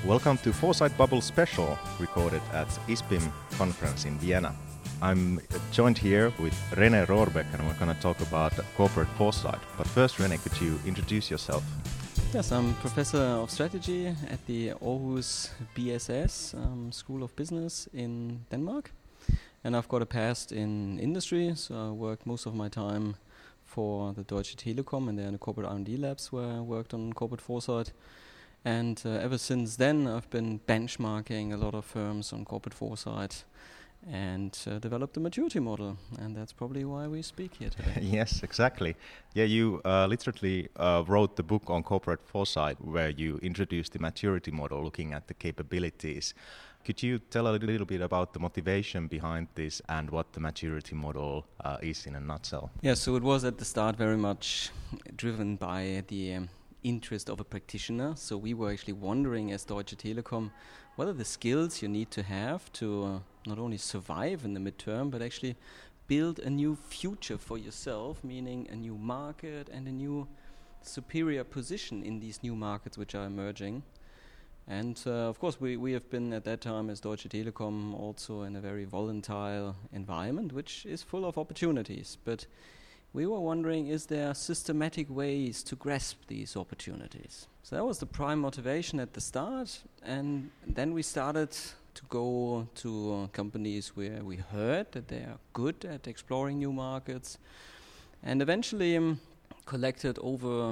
Welcome to Foresight Bubble Special, recorded at ISPIM conference in Vienna. I'm joined here with René Rohrbeck, and we're going to talk about corporate foresight. But first, René, could you introduce yourself? Yes, I'm Professor of Strategy at the Aarhus BSS School of Business in Denmark. And I've got a past in industry, so I worked most of my time for the Deutsche Telekom and then the corporate R&D labs where I worked on corporate foresight. And ever since then, I've been benchmarking a lot of firms on corporate foresight and developed a maturity model. And that's probably why we speak here today. Yes, exactly. Yeah, you literally wrote the book on corporate foresight where you introduced the maturity model looking at the capabilities. Could you tell a little bit about the motivation behind this and what the maturity model is in a nutshell? Yeah, so it was at the start very much driven by the interest of a practitioner. So we were actually wondering as Deutsche Telekom what are the skills you need to have to not only survive in the midterm but actually build a new future for yourself, meaning a new market and a new superior position in these new markets which are emerging. And of course we have been at that time as Deutsche Telekom also in a very volatile environment which is full of opportunities, but we were wondering, is there systematic ways to grasp these opportunities? So that was the prime motivation at the start, and then we started to go to companies where we heard that they are good at exploring new markets, and eventually collected over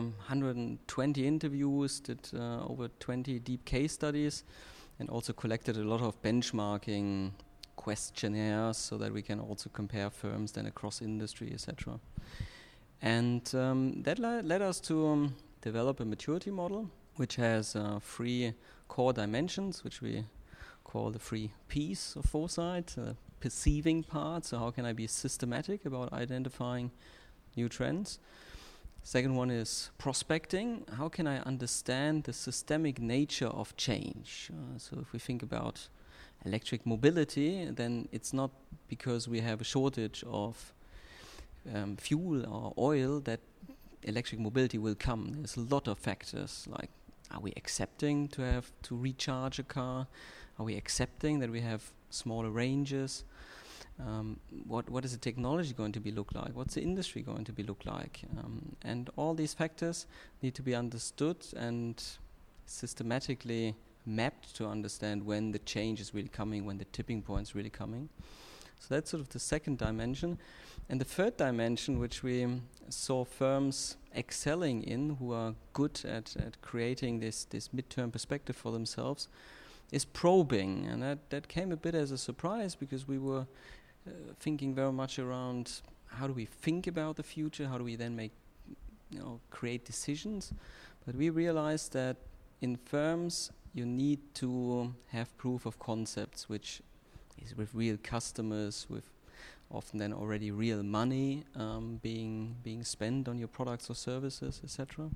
120 interviews, did over 20 deep case studies, and also collected a lot of benchmarking questionnaires so that we can also compare firms then across industry, etc. And that led us to develop a maturity model which has 3 core dimensions, which we call the 3 P's of foresight. Perceiving part, so how can I be systematic about identifying new trends? Second one is prospecting. How can I understand the systemic nature of change? So if we think about electric mobility, then it's not because we have a shortage of fuel or oil that electric mobility will come. There's a lot of factors, like are we accepting to have to recharge a car? Are we accepting that we have smaller ranges? What is the technology going to be look like? What's the industry going to be look like? And all these factors need to be understood and systematically mapped to understand when the change is really coming, when the tipping point is really coming. So that's sort of the second dimension. And the third dimension, which we saw firms excelling in, who are good at creating this midterm perspective for themselves, is probing. And that came a bit as a surprise because we were thinking very much around how do we think about the future, how do we then create decisions. But we realized that in firms you need to have proof of concepts, which is with real customers, with often then already real money being spent on your products or services, etc.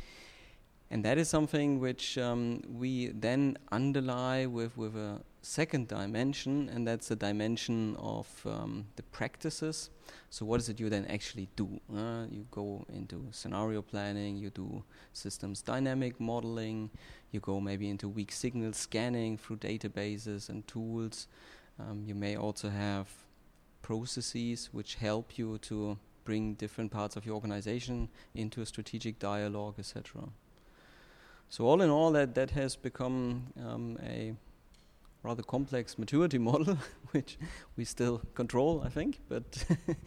And that is something which we then underlie with a second dimension, and that's the dimension of the practices. So what is it you then actually do? You go into scenario planning, you do systems dynamic modeling, you go maybe into weak signal scanning through databases and tools. You may also have processes which help you to bring different parts of your organization into a strategic dialogue, etc. So all in all, that has become a rather complex maturity model, which we still control, I think, but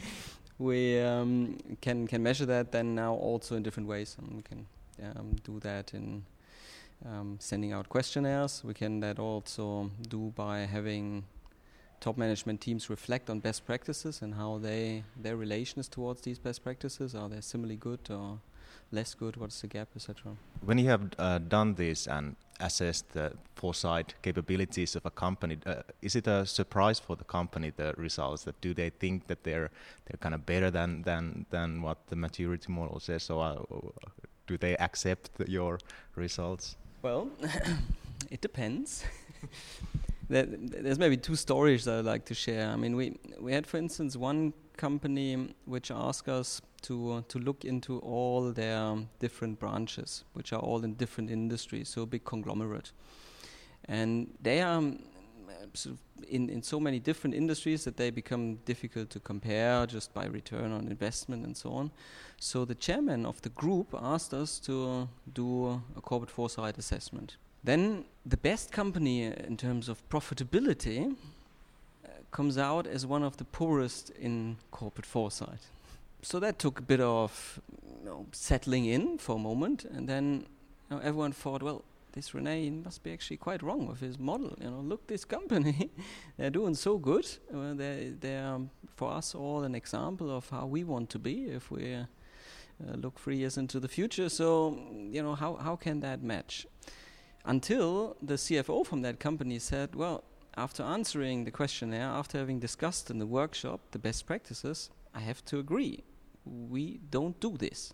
we can measure that then now also in different ways. And we can do that in sending out questionnaires. We can that also do by having top management teams reflect on best practices and how their relations towards these best practices. Are they similarly good or less good? What's the gap, etc.? When you have done this and assessed the foresight capabilities of a company, is it a surprise for the company, the results? That do they think that they're kind of better than what the maturity model says? So do they accept your results? Well, it depends. There's maybe 2 stories that I'd like to share. I mean, we had, for instance, one company which asked us to look into all their different branches, which are all in different industries, so a big conglomerate. And they are sort of in so many different industries that they become difficult to compare just by return on investment and so on. So the chairman of the group asked us to do a corporate foresight assessment. Then the best company in terms of profitability comes out as one of the poorest in corporate foresight. So that took a bit of settling in for a moment, and then everyone thought, well, this René must be actually quite wrong with his model. Look, this company, they're doing so good. They're for us all an example of how we want to be if we look 3 years into the future. So, how can that match? Until the CFO from that company said, well, after answering the questionnaire, after having discussed in the workshop the best practices, I have to agree. We don't do this.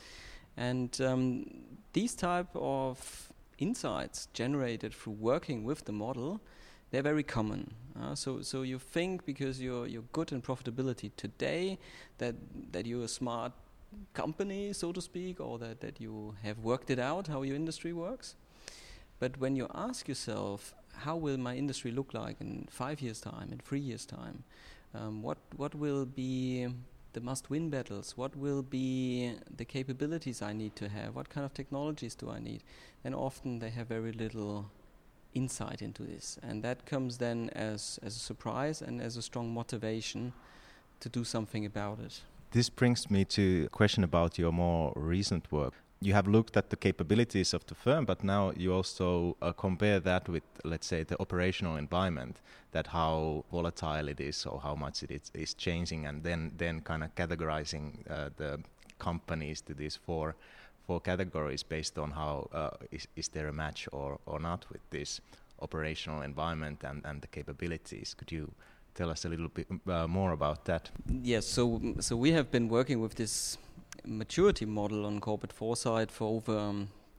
And these type of insights generated through working with the model, they're very common. So you think because you're good in profitability today that you're a smart company, so to speak, or that you have worked it out how your industry works. But when you ask yourself, how will my industry look like in 5 years' time, in 3 years' time? What will be the must-win battles? What will be the capabilities I need to have? What kind of technologies do I need? And often they have very little insight into this. And that comes then as a surprise and as a strong motivation to do something about it. This brings me to a question about your more recent work. You have looked at the capabilities of the firm, but now you also compare that with, let's say, the operational environment, that how volatile it is or how much it is changing, and then kind of categorizing the companies to these four categories based on how is there a match or not with this operational environment and the capabilities. Could you tell us a little bit more about that? Yes, so we have been working with this maturity model on corporate foresight for over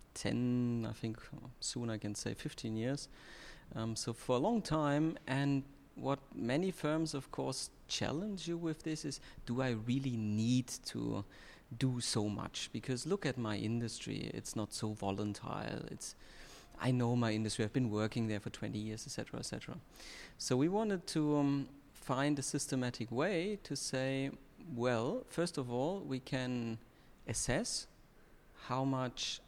10, I think soon I can say 15 years. So for a long time, and what many firms of course challenge you with this is, do I really need to do so much? Because look at my industry, it's not so volatile. I know my industry, I've been working there for 20 years, etc., etc. So we wanted to find a systematic way to say, well, first of all, we can assess how much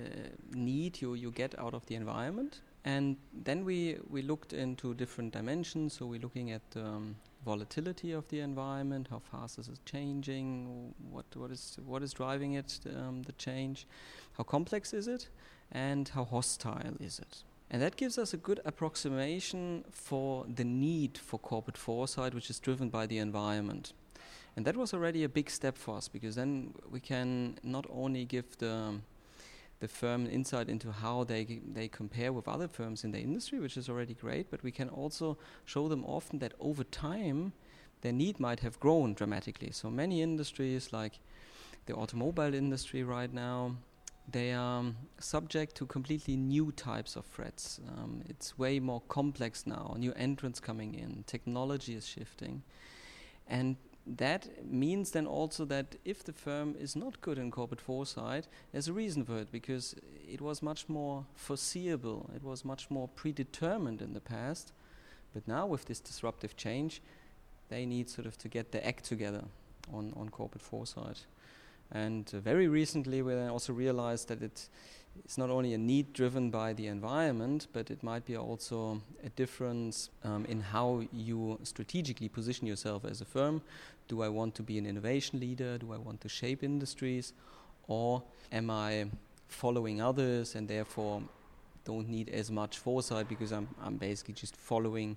need you get out of the environment. And then we looked into different dimensions. So we're looking at volatility of the environment, how fast is it changing, what is driving it, the change, how complex is it, and how hostile is it. And that gives us a good approximation for the need for corporate foresight, which is driven by the environment. And that was already a big step for us, because then we can not only give the firm insight into how they compare with other firms in the industry, which is already great, but we can also show them often that over time their need might have grown dramatically. So many industries, like the automobile industry right now, they are subject to completely new types of threats. It's way more complex now, new entrants coming in, technology is shifting. And that means then also that if the firm is not good in corporate foresight, there's a reason for it, because it was much more foreseeable, it was much more predetermined in the past. But now with this disruptive change, they need sort of to get their act together on corporate foresight. And very recently we also realized that it's not only a need driven by the environment, but it might be also a difference in how you strategically position yourself as a firm. Do I want to be an innovation leader? Do I want to shape industries? Or am I following others and therefore don't need as much foresight, because I'm basically just following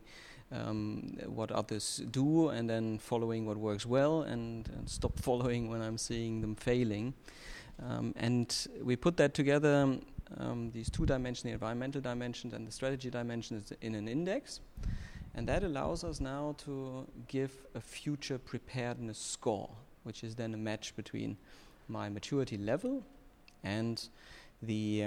what others do and then following what works well and stop following when I'm seeing them failing. And we put that together, these two dimensions, the environmental dimension and the strategy dimension, in an index. And that allows us now to give a future preparedness score, which is then a match between my maturity level and the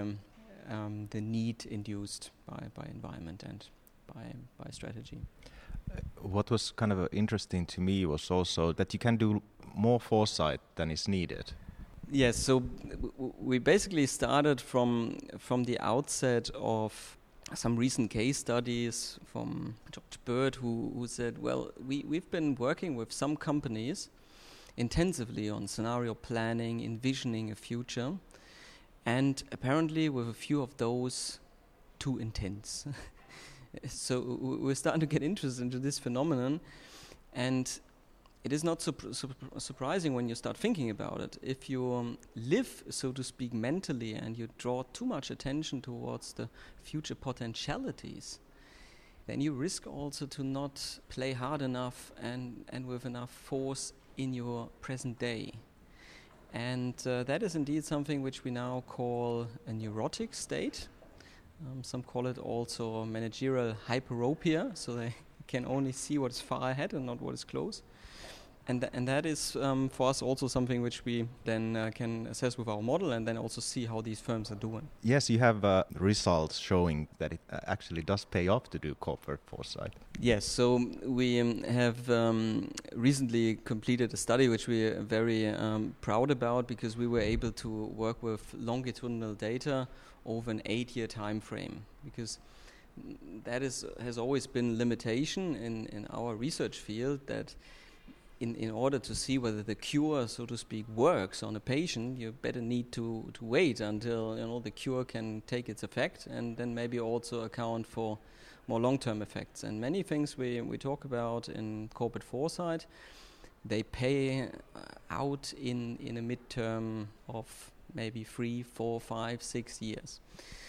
need induced by environment and by strategy. What was kind of interesting to me was also that you can do more foresight than is needed. Yes, so we basically started from the outset of some recent case studies from George Bird, who said, well, we've been working with some companies intensively on scenario planning, envisioning a future, and apparently with a few of those too intense. So we're starting to get interested into this phenomenon, and it is not surprising when you start thinking about it. If you live, so to speak, mentally, and you draw too much attention towards the future potentialities, then you risk also to not play hard enough and with enough force in your present day. And that is indeed something which we now call a neurotic state. Some call it also managerial hyperopia, so they can only see what is far ahead and not what is close. And that is for us also something which we then can assess with our model and then also see how these firms are doing. Yes, you have results showing that it actually does pay off to do corporate foresight. Yes, so we have recently completed a study which we are very proud about, because we were able to work with longitudinal data over an 8-year time frame, because that has always been limitation in our research field, that in order to see whether the cure, so to speak, works on a patient, you better need to wait until the cure can take its effect, and then maybe also account for more long-term effects. And many things we talk about in corporate foresight, they pay out in a midterm of maybe 3, 4, 5, 6 years.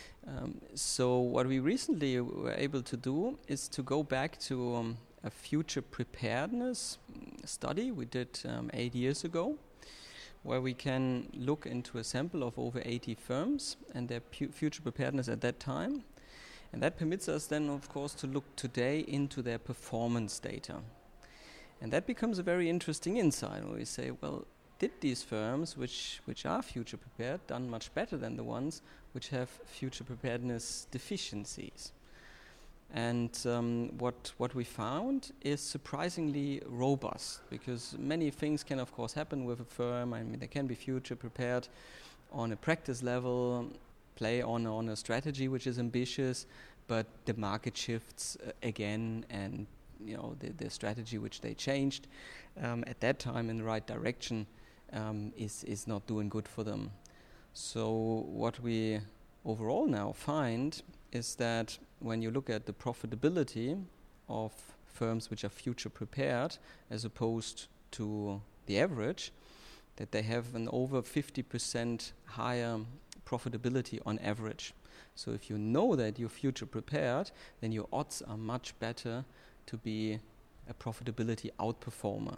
So what we recently were able to do is to go back to a future preparedness study we did 8 years ago, where we can look into a sample of over 80 firms and their future preparedness at that time. And that permits us then, of course, to look today into their performance data. And that becomes a very interesting insight, where we say, well, did these firms which are future prepared done much better than the ones which have future preparedness deficiencies? And what we found is surprisingly robust, because many things can of course happen with a firm. I mean, they can be future prepared on a practice level, play on a strategy which is ambitious, but the market shifts again, and the strategy which they changed at that time in the right direction is not doing good for them. So what we overall now find is that when you look at the profitability of firms which are future prepared as opposed to the average, that they have an over 50% higher profitability on average. So if you know that you're future prepared, then your odds are much better to be a profitability outperformer.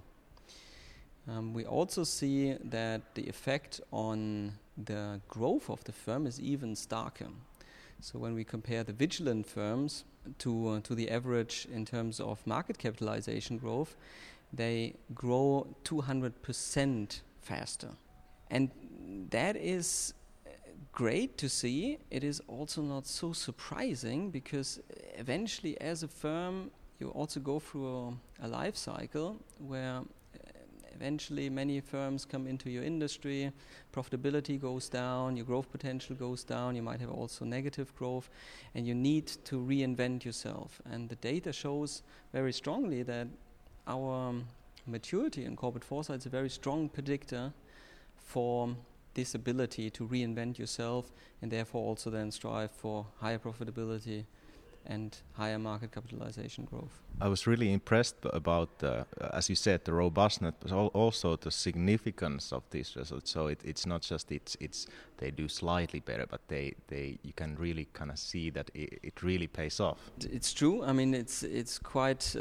We also see that the effect on the growth of the firm is even starker. So when we compare the vigilant firms to the average in terms of market capitalization growth, they grow 200% faster. And that is great to see. It is also not so surprising, because eventually as a firm you also go through a life cycle where eventually many firms come into your industry, profitability goes down, your growth potential goes down, you might have also negative growth, and you need to reinvent yourself. And the data shows very strongly that our maturity in corporate foresight is a very strong predictor for this ability to reinvent yourself, and therefore also then strive for higher profitability and higher market capitalization growth. I was really impressed about, as you said, the robustness, but also the significance of these results. So it's not just it's they do slightly better, but you can really kind of see that it really pays off. It's true. I mean, it's quite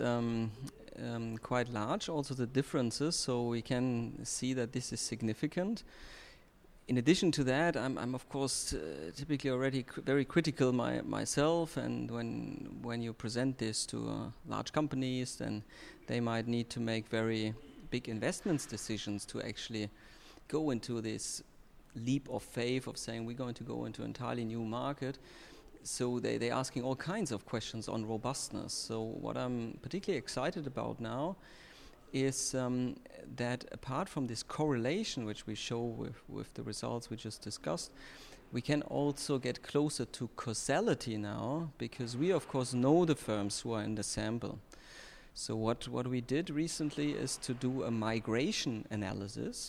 large. Also the differences, so we can see that this is significant. In addition to that, I'm of course typically already very critical myself, and when you present this to large companies, then they might need to make very big investments decisions to actually go into this leap of faith of saying we're going to go into an entirely new market. So they're asking all kinds of questions on robustness. So what I'm particularly excited about now is that apart from this correlation which we show with the results we just discussed, we can also get closer to causality now, because we of course know the firms who are in the sample. So what we did recently is to do a migration analysis,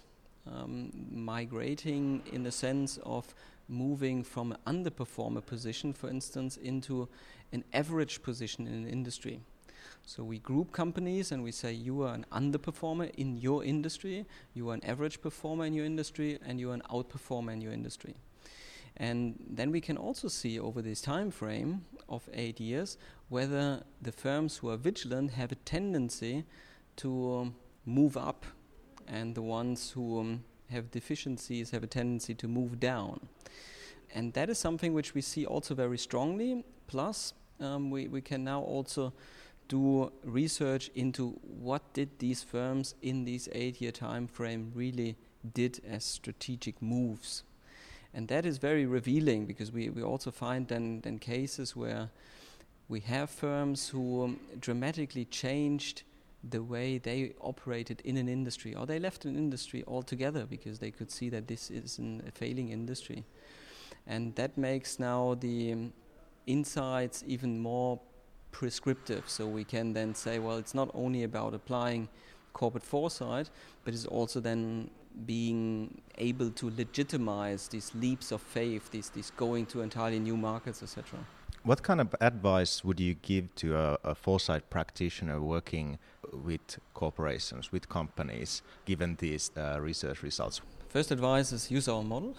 migrating in the sense of moving from an underperformer position, for instance, into an average position in an industry. So we group companies and we say you are an underperformer in your industry, you are an average performer in your industry, and you are an outperformer in your industry. And then we can also see over this time frame of 8 years whether the firms who are vigilant have a tendency to move up, and the ones who have deficiencies have a tendency to move down. And that is something which we see also very strongly. Plus, we can now also do research into what did these firms in this 8-year time frame really did as strategic moves. And that is very revealing, because we also find then cases where we have firms who dramatically changed the way they operated in an industry, or they left an industry altogether because they could see that this is a failing industry. And that makes now the insights even more prescriptive. So we can then say, well, it's not only about applying corporate foresight, but it's also then being able to legitimize these leaps of faith, these going to entirely new markets, etc. What kind of advice would you give to a foresight practitioner working with corporations, with companies, given these research results? First advice is use our model.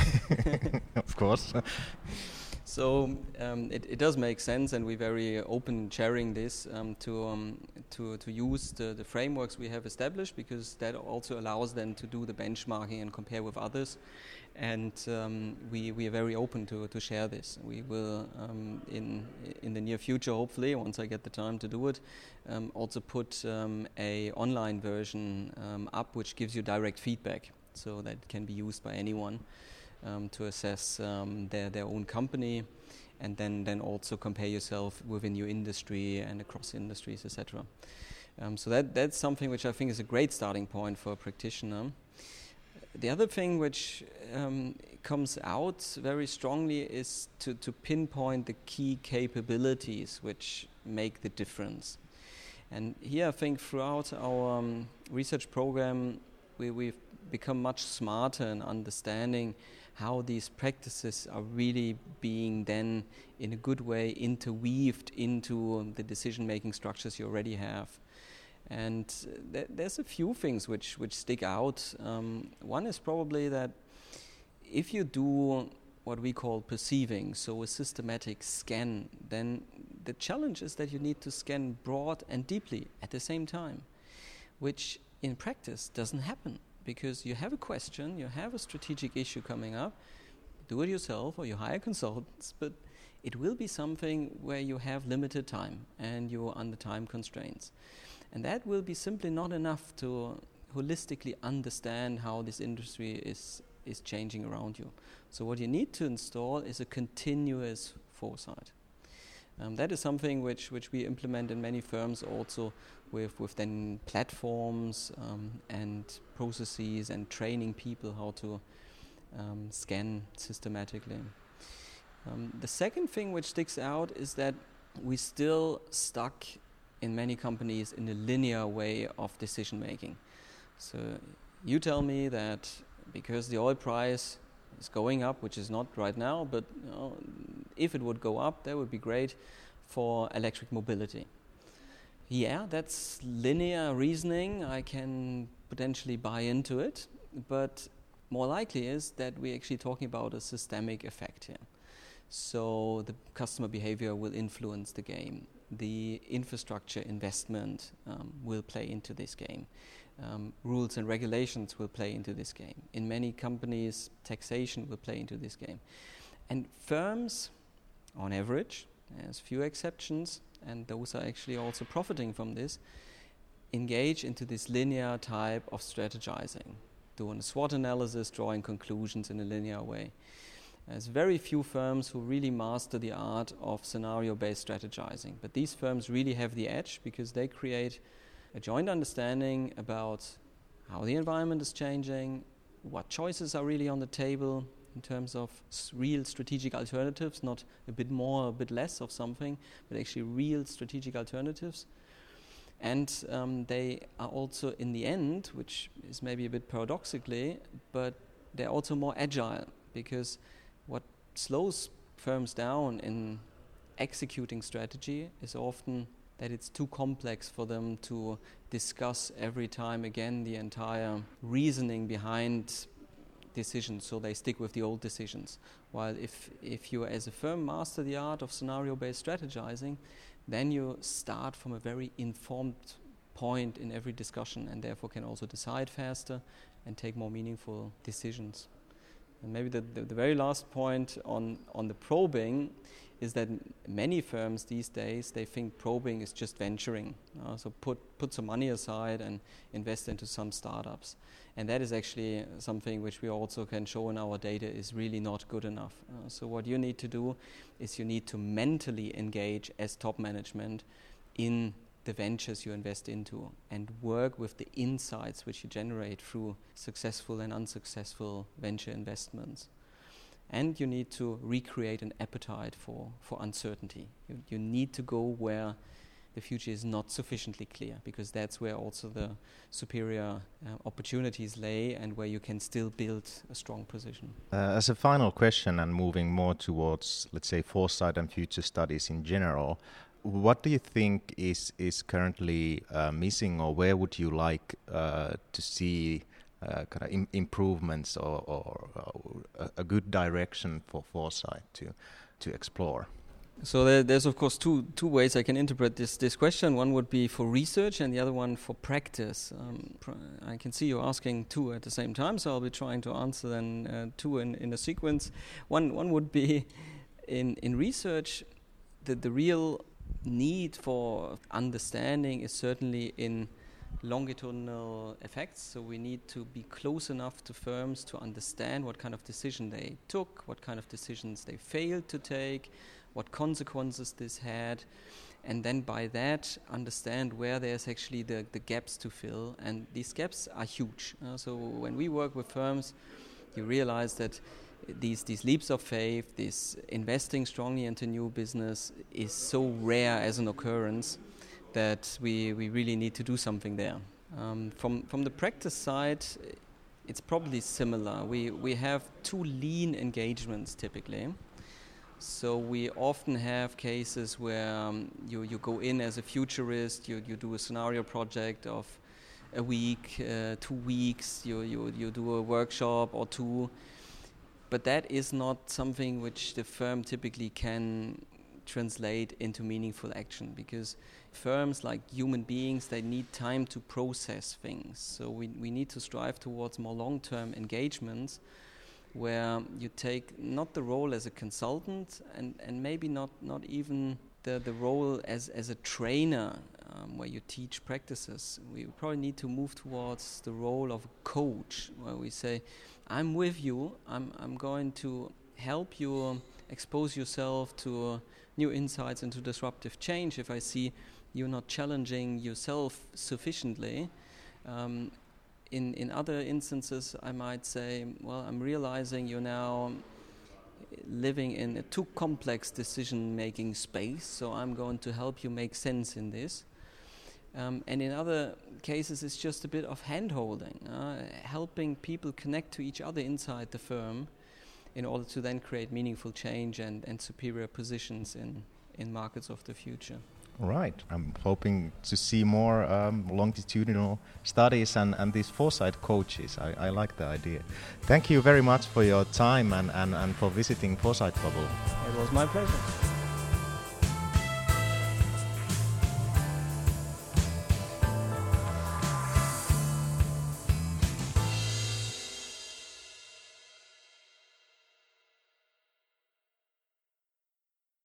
Of course. So it does make sense, and we're very open sharing this to use the frameworks we have established, because that also allows them to do the benchmarking and compare with others. And we are very open to share this. We will, in the near future, hopefully, once I get the time to do it, also put a online version up which gives you direct feedback, so that can be used by anyone to assess their own company, and then also compare yourself within your industry and across industries, etc. So that's something which I think is a great starting point for a practitioner. The other thing which comes out very strongly is to pinpoint the key capabilities which make the difference. And here I think throughout our research program we've become much smarter in understanding how these practices are really being then in a good way interweaved into the decision-making structures you already have. And there's a few things which stick out. One is probably that if you do what we call perceiving, so a systematic scan, then the challenge is that you need to scan broad and deeply at the same time, which in practice doesn't happen, because you have a question, you have a strategic issue coming up, do it yourself or you hire consultants, but it will be something where you have limited time and you're under time constraints. And that will be simply not enough to holistically understand how this industry is changing around you. So what you need to install is a continuous foresight. That is something which we implement in many firms also with then platforms and processes and training people how to scan systematically. The second thing which sticks out is that we're still stuck in many companies in a linear way of decision making. So you tell me that because the oil price is going up, which is not right now, but if it would go up, that would be great for electric mobility. Yeah, that's linear reasoning. I can potentially buy into it, but more likely is that we're actually talking about a systemic effect here. So the customer behavior will influence the game. The infrastructure investment will play into this game. Rules and regulations will play into this game. In many companies, taxation will play into this game. And firms, on average, there's few exceptions, and those are actually also profiting from this, engage into this linear type of strategizing, doing a SWOT analysis, drawing conclusions in a linear way. There's very few firms who really master the art of scenario-based strategizing, but these firms really have the edge because they create a joint understanding about how the environment is changing, what choices are really on the table, in terms of real strategic alternatives, not a bit more, a bit less of something, but actually real strategic alternatives. And they are also, in the end, which is maybe a bit paradoxically, but they're also more agile, because what slows firms down in executing strategy is often that it's too complex for them to discuss every time again the entire reasoning behind decisions, so they stick with the old decisions. While if you as a firm master the art of scenario-based strategizing, then you start from a very informed point in every discussion, and therefore can also decide faster and take more meaningful decisions. And maybe the very last point on the probing is that many firms these days, they think probing is just venturing. So put some money aside and invest into some startups. And that is actually something which we also can show in our data is really not good enough. So what you need to do is you need to mentally engage as top management in the ventures you invest into and work with the insights which you generate through successful and unsuccessful venture investments. And you need to recreate an appetite for uncertainty. You need to go where the future is not sufficiently clear, because that's where also the superior opportunities lay and where you can still build a strong position. As a final question, and moving more towards, let's say, foresight and future studies in general, what do you think is currently missing, or where would you like to see kind of improvements or a good direction for foresight to explore? So there's of course two ways I can interpret this question. One would be for research and the other one for practice. I can see you asking two at the same time, so I'll be trying to answer then two in a sequence. One would be in research, the real need for understanding is certainly in longitudinal effects. So we need to be close enough to firms to understand what kind of decision they took, what kind of decisions they failed to take, what consequences this had, and then by that understand where there's actually the gaps to fill. And these gaps are huge. So when we work with firms, you realize that these leaps of faith, this investing strongly into new business is so rare as an occurrence that we really need to do something there. From the practice side, it's probably similar. We have two lean engagements typically. So we often have cases where you go in as a futurist, you do a scenario project of a week, 2 weeks, you do a workshop or two, but that is not something which the firm typically can translate into meaningful action, because firms, like human beings, they need time to process things. So we need to strive towards more long-term engagements where you take not the role as a consultant and maybe not even the role as a trainer where you teach practices. We probably need to move towards the role of a coach, where we say, I'm with you, I'm going to help you expose yourself to new insights into disruptive change if I see you're not challenging yourself sufficiently. In other instances, I might say, well, I'm realizing you're now living in a too complex decision-making space, so I'm going to help you make sense in this. And in other cases, it's just a bit of hand-holding, helping people connect to each other inside the firm in order to then create meaningful change and superior positions in markets of the future. Right. I'm hoping to see more longitudinal studies and these foresight coaches. I like the idea. Thank you very much for your time and for visiting Foresight Bubble. It was my pleasure.